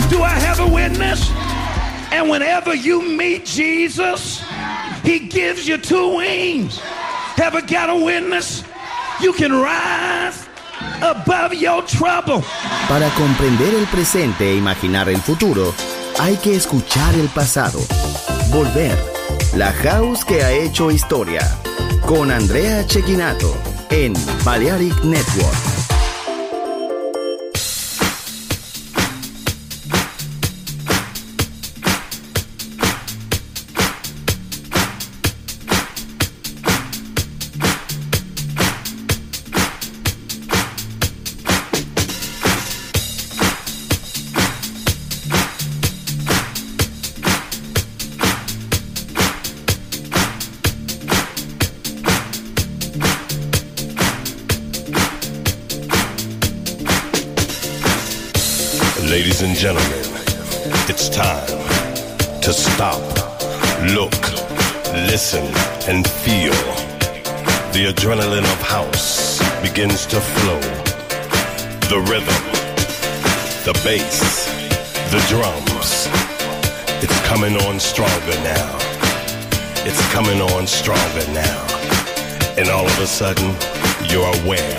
Do I have a witness? And whenever you meet Jesus, he gives you two wings. Ever got a witness? You can rise above your trouble. Para comprender el presente e imaginar el futuro, hay que escuchar el pasado. Volver. La house que ha hecho historia. Con Andrea Cecchinato en Balearic Network. Ladies and gentlemen, it's time to stop, look, listen, and feel. The adrenaline of house begins to flow. The rhythm, the bass, the drums. It's coming on stronger now. It's coming on stronger now. And all of a sudden, you're aware.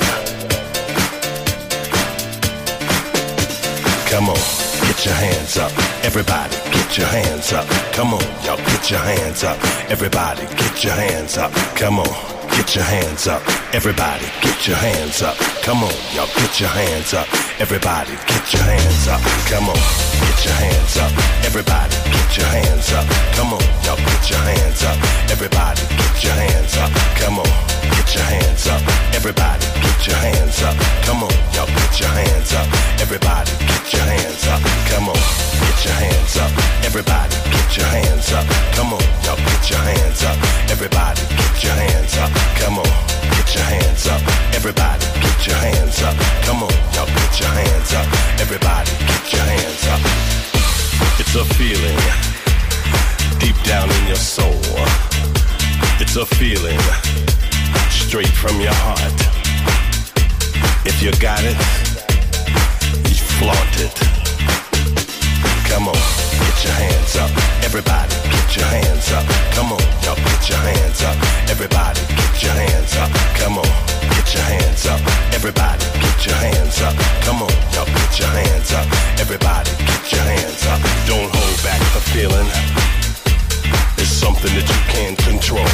Come on, get your hands up. Everybody, get your hands up. Come on, y'all, get your hands up. Everybody, get your hands up. Come on, get your hands up. Everybody, get your hands up. Come on, y'all, get your hands up. Everybody, get your hands up. Come on, get your hands up. Everybody, get your hands up. Come on, y'all, get your hands up. Everybody, get your hands up. Come on, get your hands up. Everybody, get your hands up. Come on, y'all, get your hands up. Everybody, get your hands up. Come on, get your hands up. Everybody, get your hands up. Come on, y'all, get your hands up. Everybody, get your hands up. Come on, get your hands up. Everybody, get your hands up. Come on, y'all, get your hands up. Everybody, get your hands up. It's a feeling deep down in your soul. It's a feeling straight from your heart. If you got it, you flaunt it. Come on, get your hands up. Everybody, get your hands up. Come on, y'all, get your hands up. Everybody, get your hands up. Come on, get your hands up. Everybody, get your hands up. Come on, y'all, get your hands up. Everybody, get your hands up. Don't hold back the feeling. It's something that you can't control.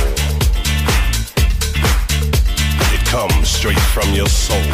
It comes straight from your soul.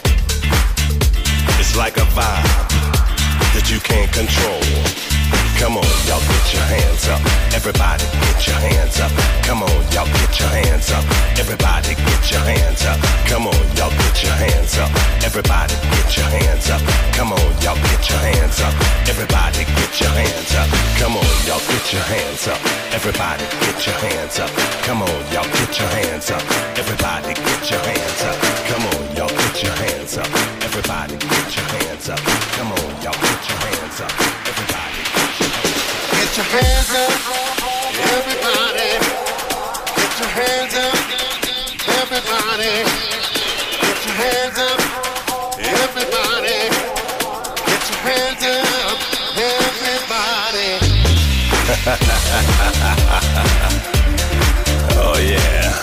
It's like a vibe that you can't control. Come on, y'all, get your hands up. Everybody, get your hands up. Come on, y'all, get your hands up. Everybody, get your hands up. Come on, y'all, get your hands up. Everybody, get your hands up. Come on, y'all, get your hands up. Everybody, get your hands up. Come on, y'all, get your hands up. Everybody, get your hands up. Come on, y'all, get your hands up. Everybody, get your hands up. Come on, y'all, get your hands up. Everybody, get your hands up. Come on, y'all, get your hands up. Everybody, get your hands up, everybody. Get your hands up, everybody. Get your hands up, everybody. Get your hands up, everybody. oh yeah.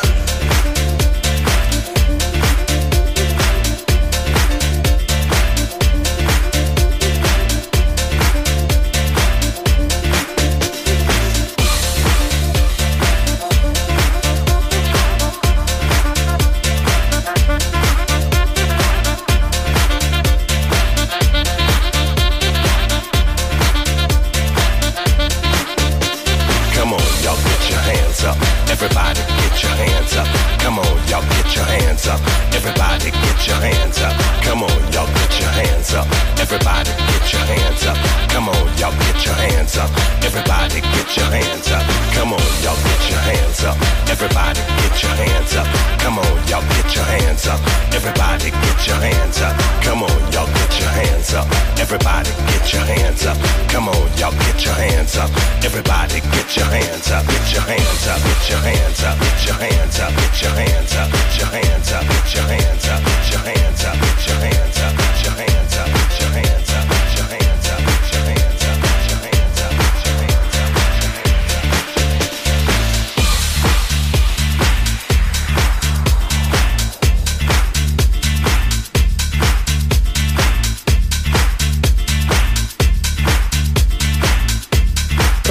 Everybody get your hands up. Come on, y'all get your hands up. Everybody get your hands up. Come on, y'all get your hands up. Everybody get your hands up. Come on, y'all get your hands up. Everybody get your hands up. Come on, y'all get your hands up. Everybody get your hands up. Come on, y'all get your hands up. Everybody get your hands up. Come on, y'all get your hands up. Everybody get your hands up. Come on, y'all get your hands up. Everybody get your hands up. Get your hands up. Get your hands up. Get your hands up. Get your hands up. Get your hands up. Get your hands up. Get your hands up. Get your hands up. Get your hands up. Get your hands up. Get your hands up. Get your hands up.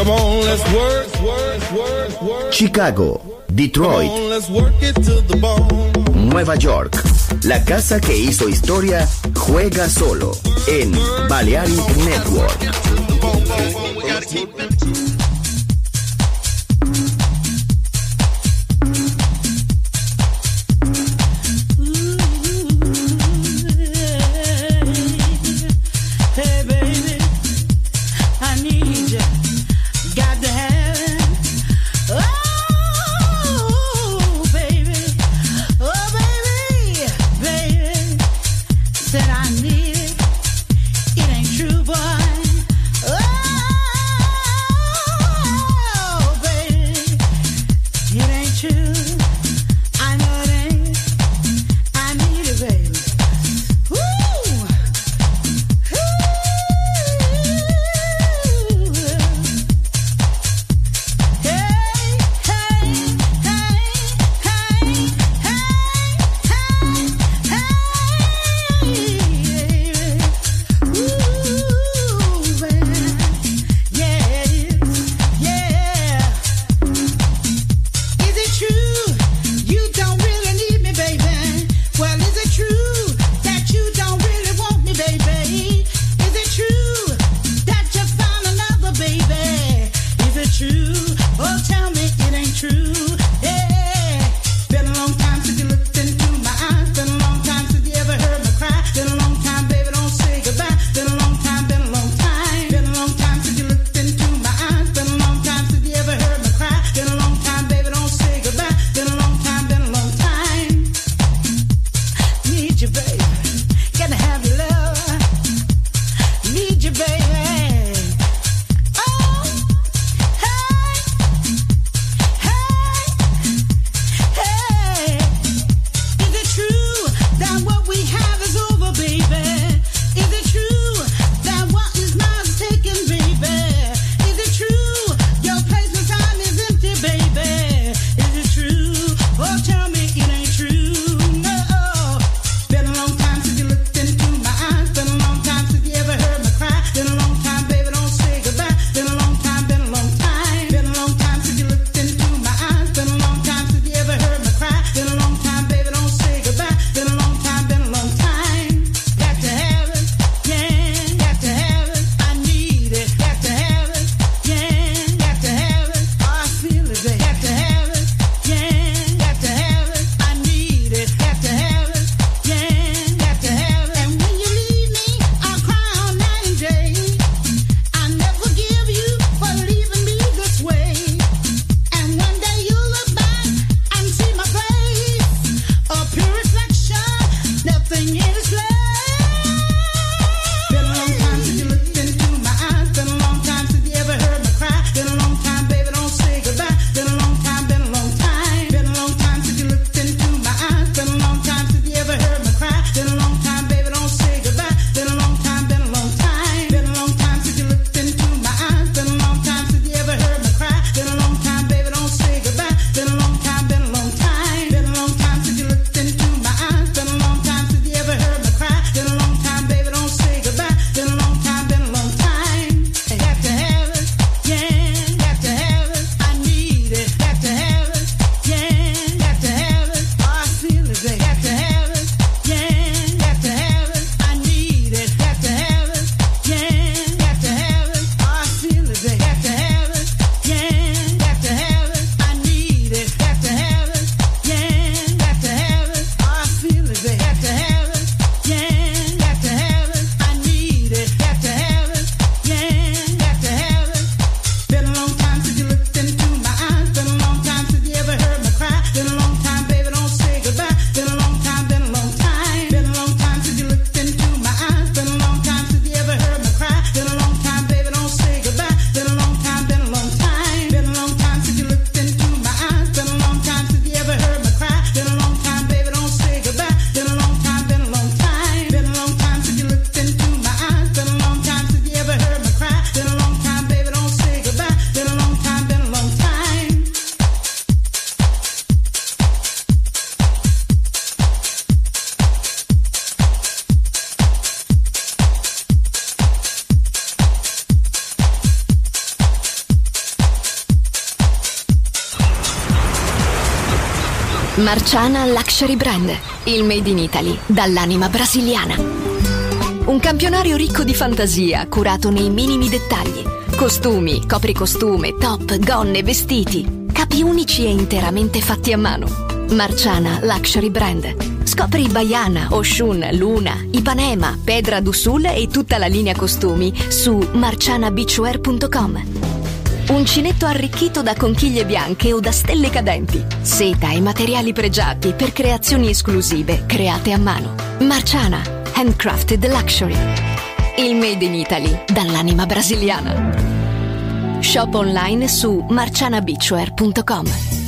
Come on, let's work. Chicago, Detroit, Come on, let's work it to the bone. Nueva York. La casa que hizo historia juega solo en Balearic Network. Marciana Luxury Brand, il made in Italy dall'anima brasiliana. Un campionario ricco di fantasia, curato nei minimi dettagli. Costumi, copricostume, top, gonne, vestiti. Capi unici e interamente fatti a mano. Marciana Luxury Brand. Scopri Baiana, Oshun, Luna, Ipanema, Pedra do Sul e tutta la linea costumi su marcianabeachwear.com. Uncinetto arricchito da conchiglie bianche o da stelle cadenti. Seta e materiali pregiati per creazioni esclusive create a mano. Marciana, handcrafted luxury. Il made in Italy dall'anima brasiliana. Shop online su marcianabeachwear.com.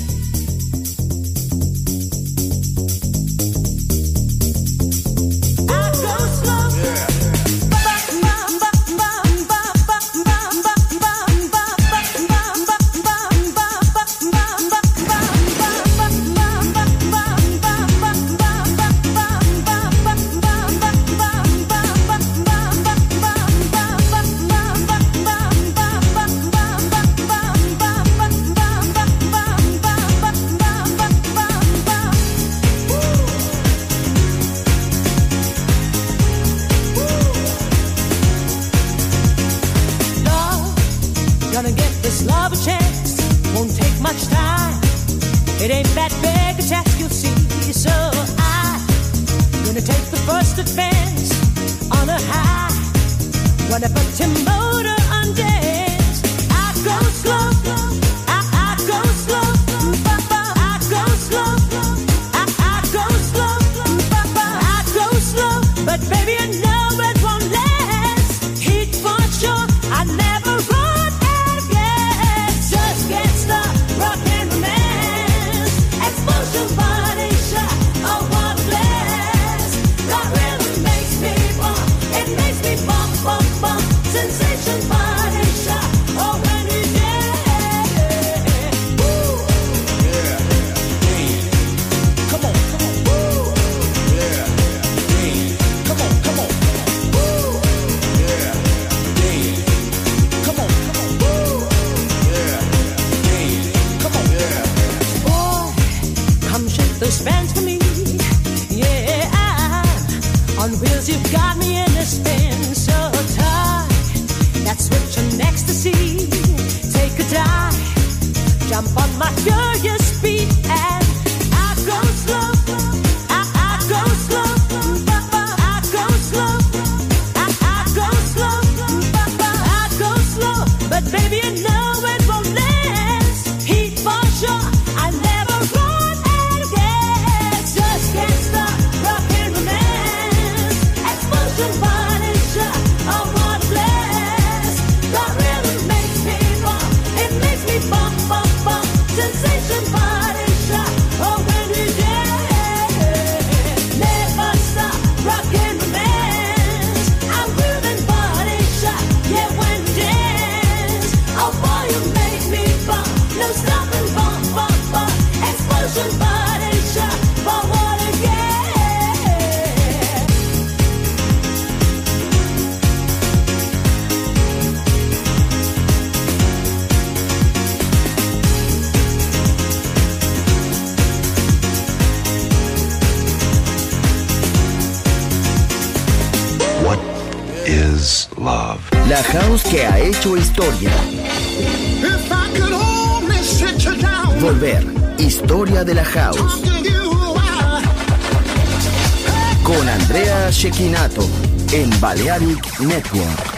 La house que ha hecho historia. Volver, historia de la house. Con Andrea Cecchinato en Balearic Network.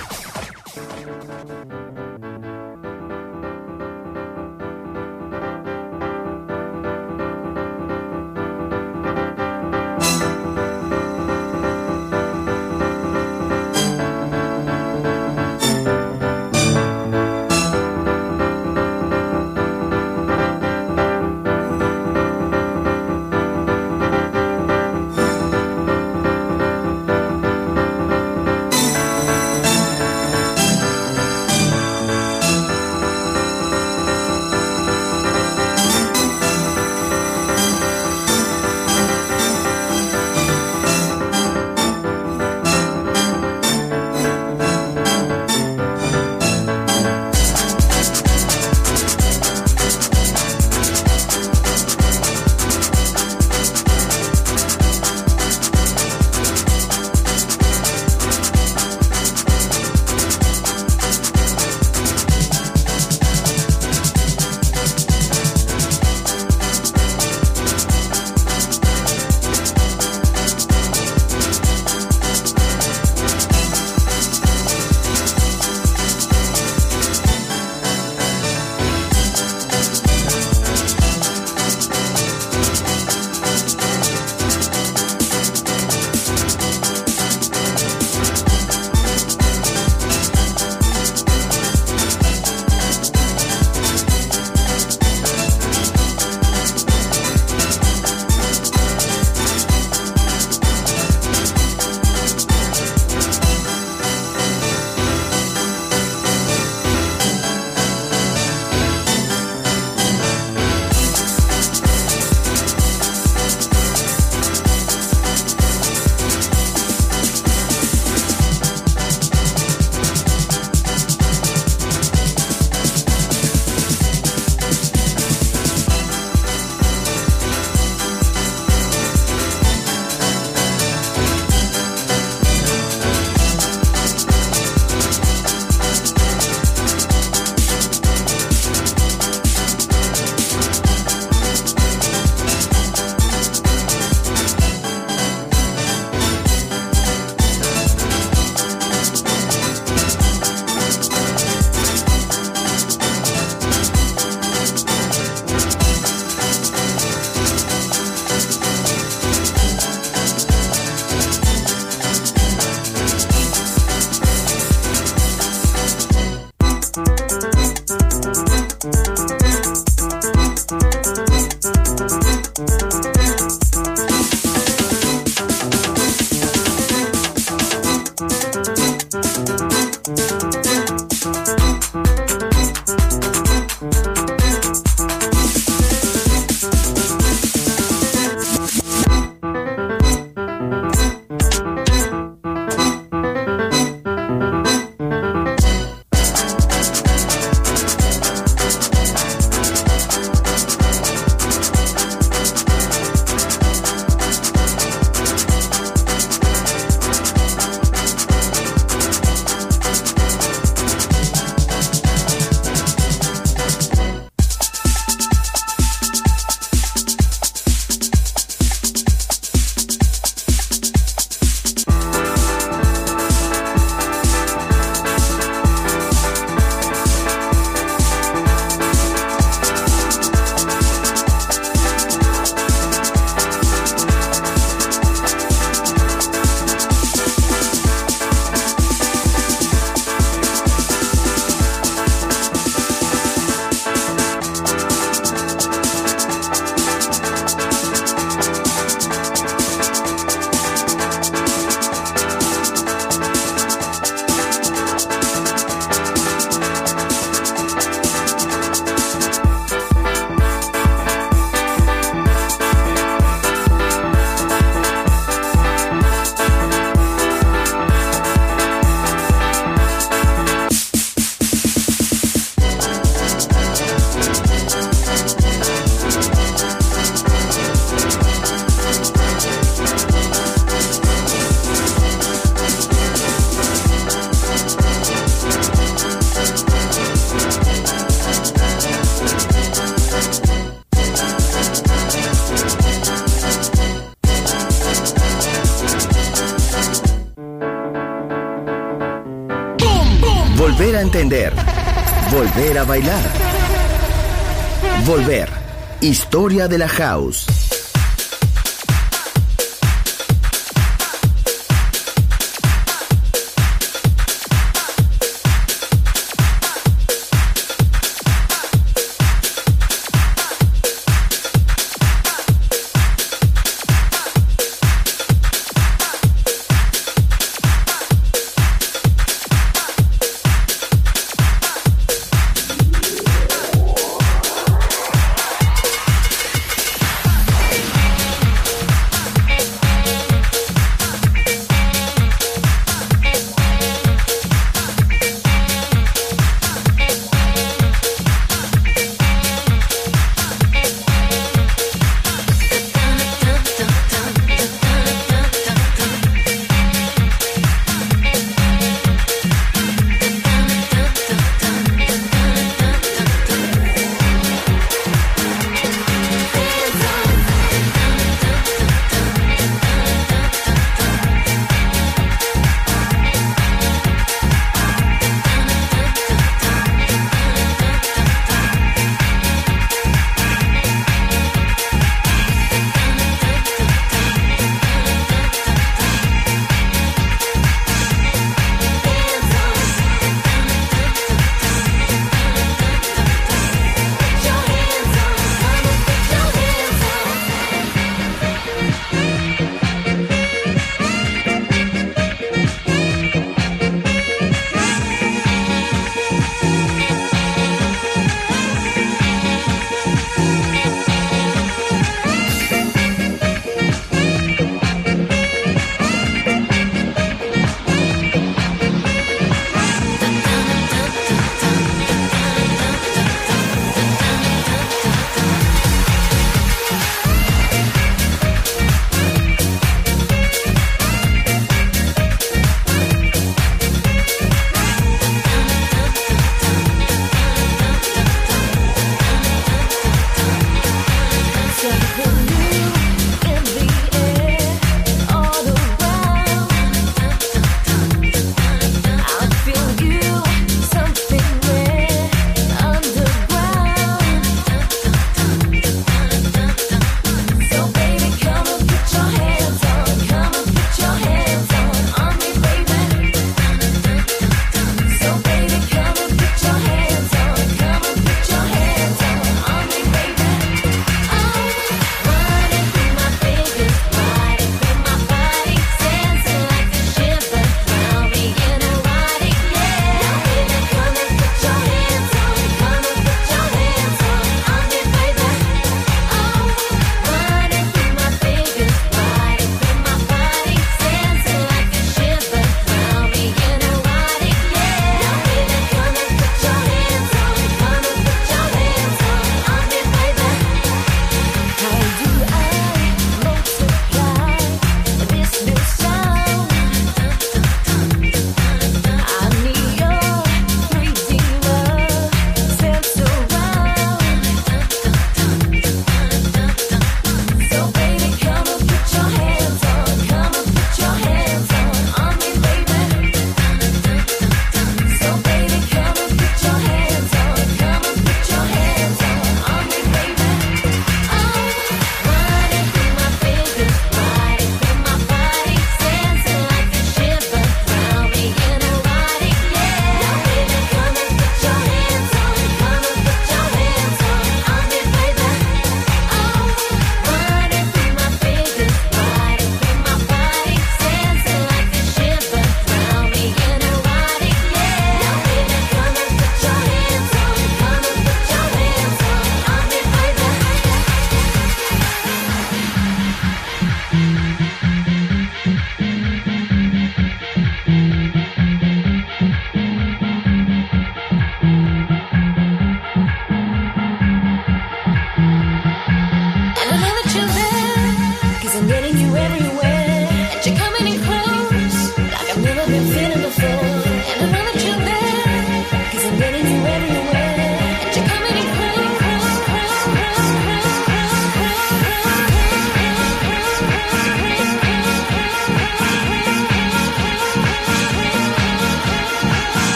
entender. Volver a bailar. Volver. Historia de la house.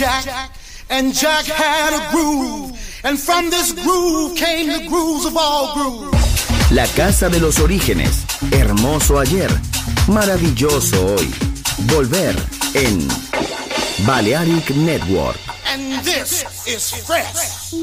Jack, and Jack had a groove, and from this groove came the grooves of all grooves. La casa de los orígenes, hermoso ayer, maravilloso hoy. Volver en Balearic Network. And this is fresh.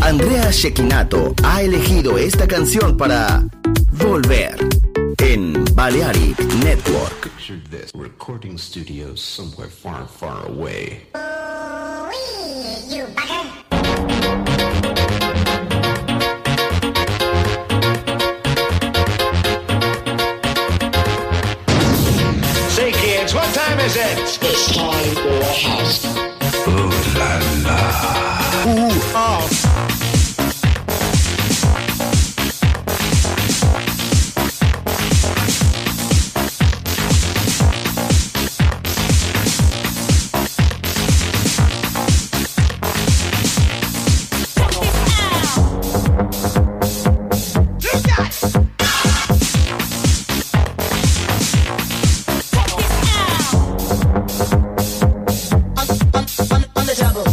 Andrea Cecchinato ha elegido esta canción para volver en Balearic Network. Picture this, recording studios somewhere far, far away. You bugger. Say, kids, what time is it? It's time for a house. Ooh la la. Ooh, ah. On the double.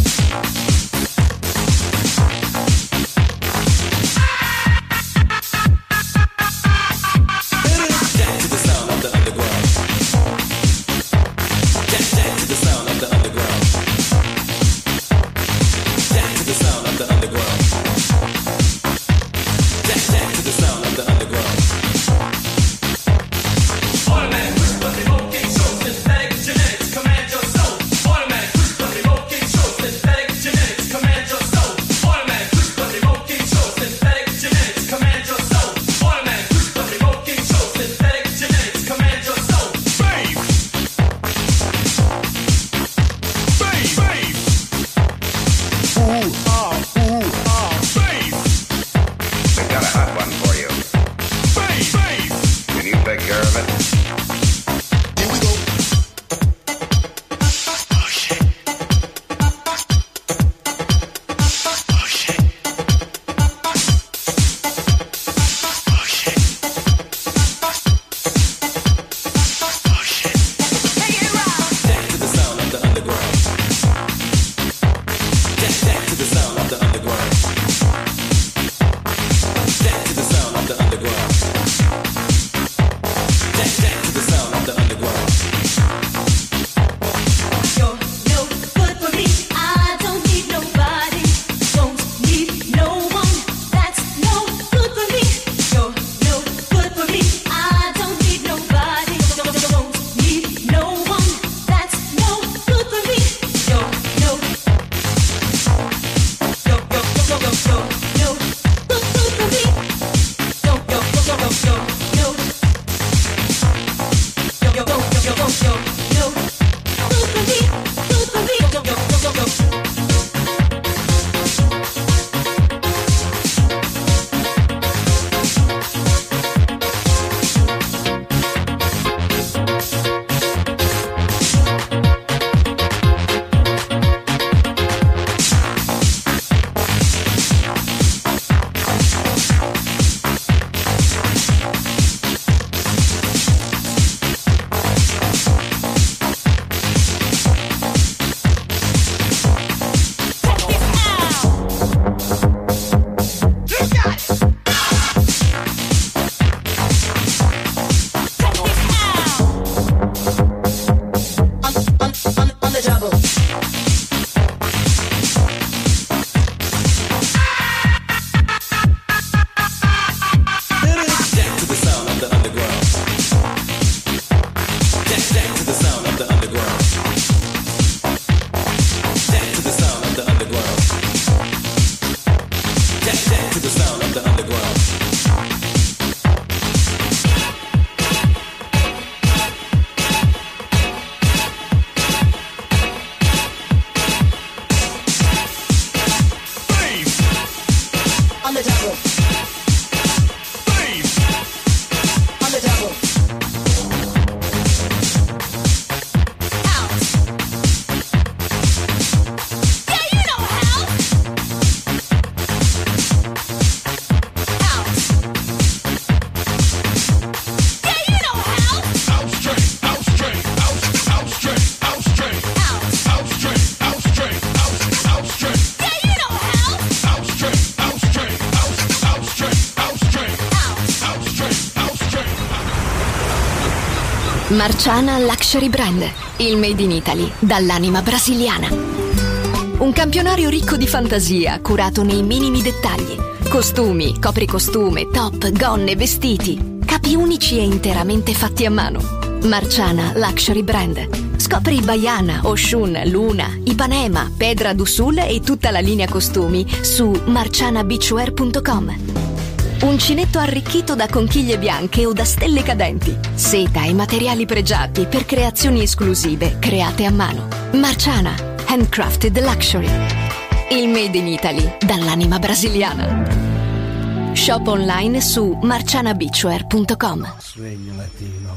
Marciana Luxury Brand, il made in Italy dall'anima brasiliana. Un campionario ricco di fantasia, curato nei minimi dettagli. Costumi, copricostume, top, gonne, vestiti. Capi unici e interamente fatti a mano. Marciana Luxury Brand. Scopri Baiana, Oshun, Luna, Ipanema, Pedra d'Usul e tutta la linea costumi su marcianabeachwear.com. Uncinetto arricchito da conchiglie bianche o da stelle cadenti. Seta e materiali pregiati per creazioni esclusive create a mano. Marciana, handcrafted luxury. Il made in Italy dall'anima brasiliana. Shop online su marcianabeachwear.com. Sueño latino.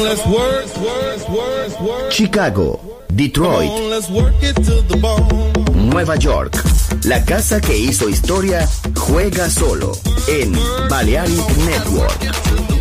let's work. Chicago, Detroit, Come on, let's work it to the bone. Nueva York. La casa que hizo historia juega solo en Balearic Network.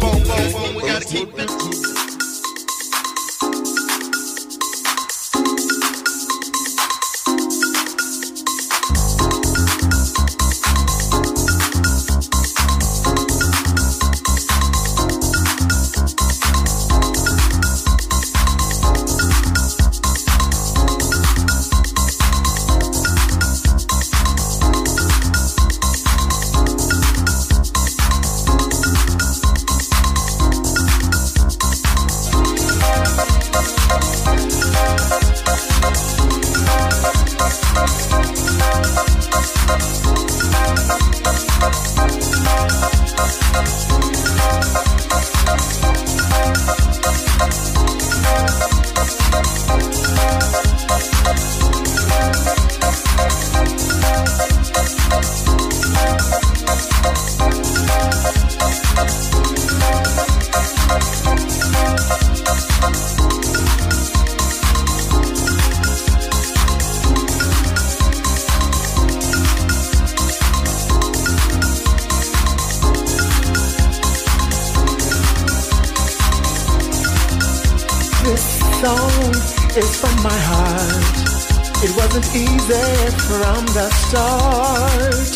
song is from my heart. It wasn't easy from the start.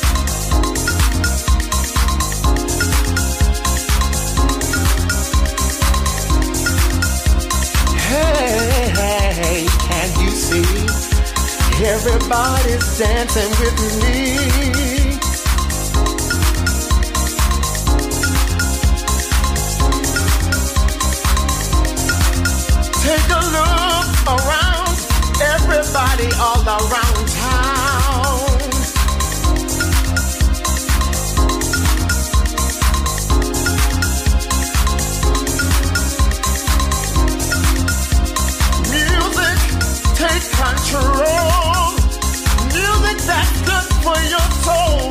Hey, hey, can't you see? Everybody's dancing with me. Take a look around, everybody all around town. Music, take control. Music that's good for your soul.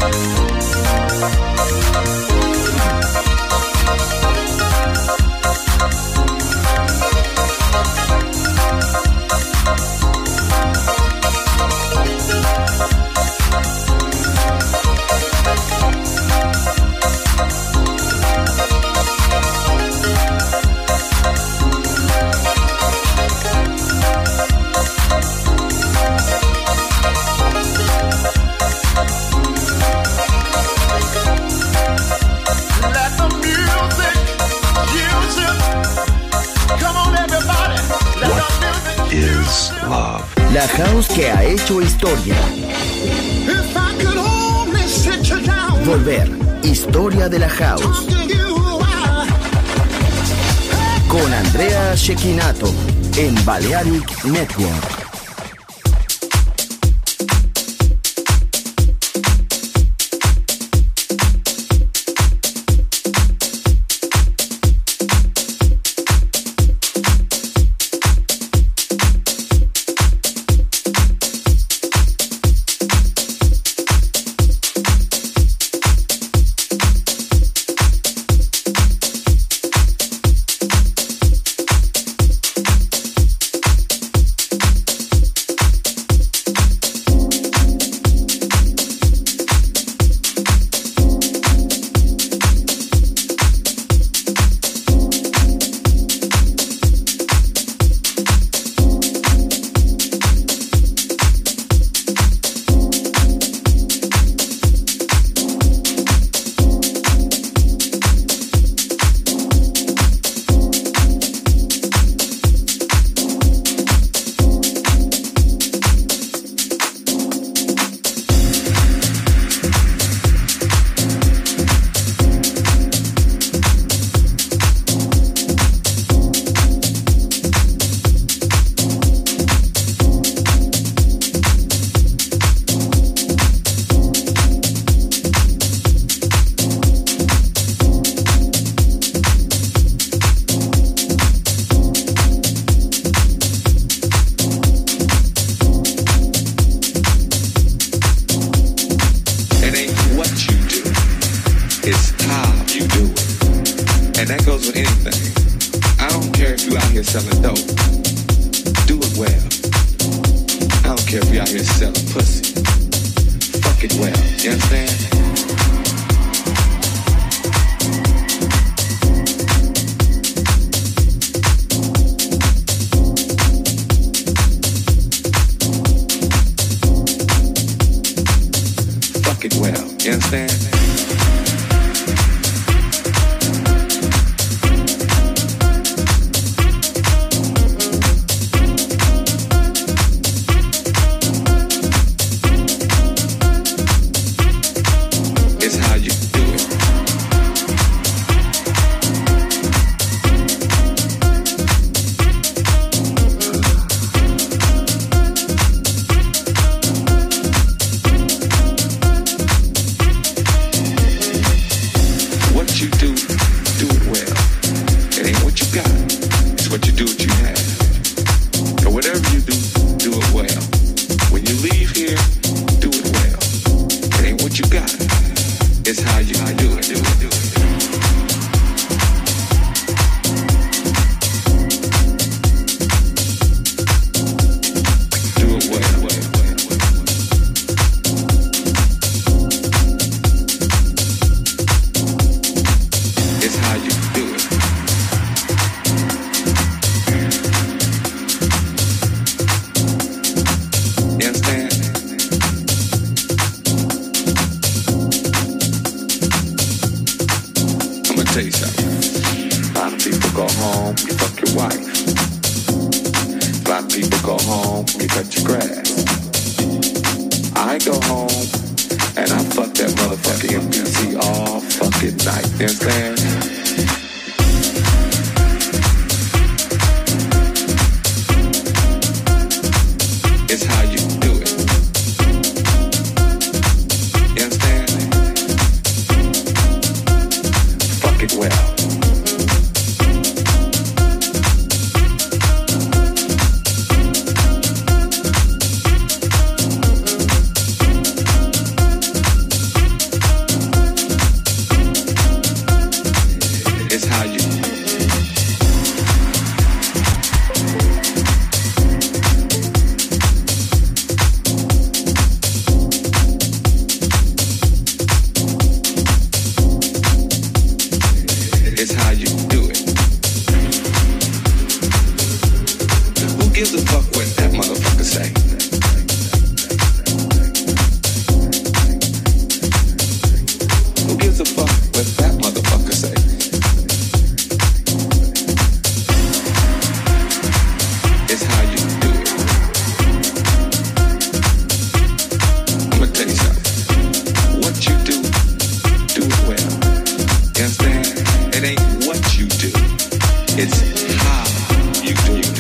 La house que ha hecho historia. Volver, historia de la house. Con Andrea Cecchinato en Balearic Network. fuck what that motherfucker say? Who gives a fuck what that motherfucker say? It's how you do it. I'ma tell you something. What you do it well. You understand? It ain't what you do. It's how you do it.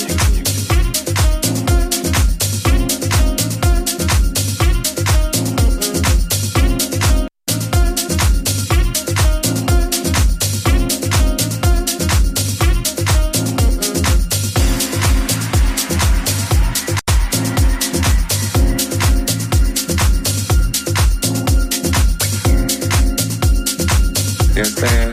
You understand?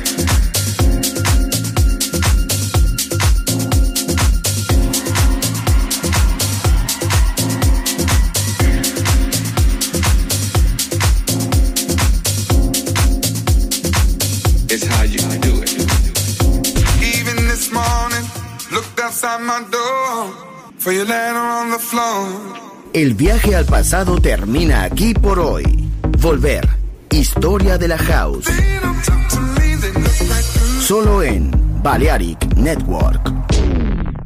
It's how you do it. Even this morning, looked outside my door for your letter on the floor. El viaje al pasado termina aquí por hoy. Volver. Historia de la House. Solo en Balearic Network.